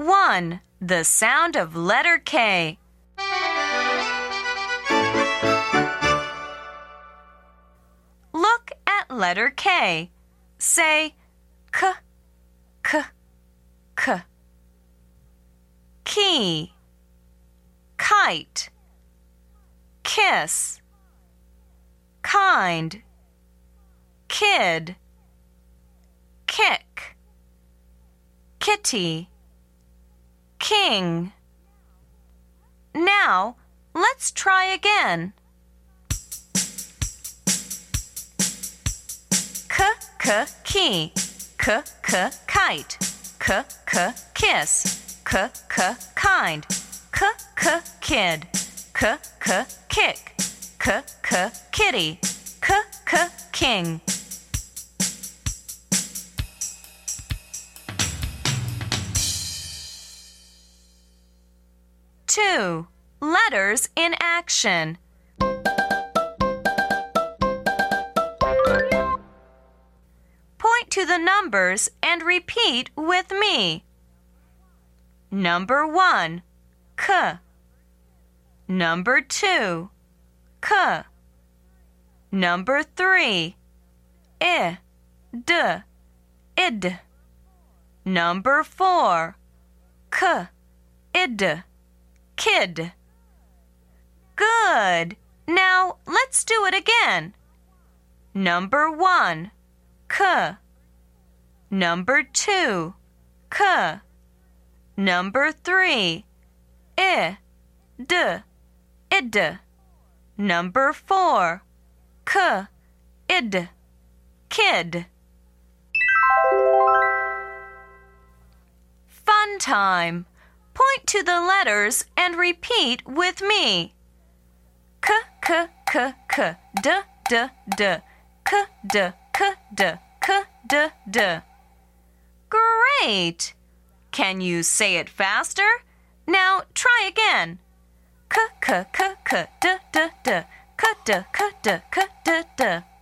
1. The sound of letter K. Look at letter K. Say k, k, k. Key, kite, kiss, kind, kid, kick, kitty, king. Now, let's try again. K, key, k, kite, k, kiss, k, kind, k, kid, k, kick, k, kitty, k, king. Two, letters in action. Point to the numbers and repeat with me. Number 1, k. Number 2, k. Number 3, I, d, id. Number 4, k, id, kid. Good. Now let's do it again. Number 1, k. Number 2, k. Number 3, I, d, id. Number 4, k, id, kid. Fun time. Point to the letters and repeat with me. K, k, k, k, d, d, d. K, d, k, d, k, d, d. Great! Can you say it faster? Now try again. K, k, k, k, d, d, d. K, d, k, d, k, d, d.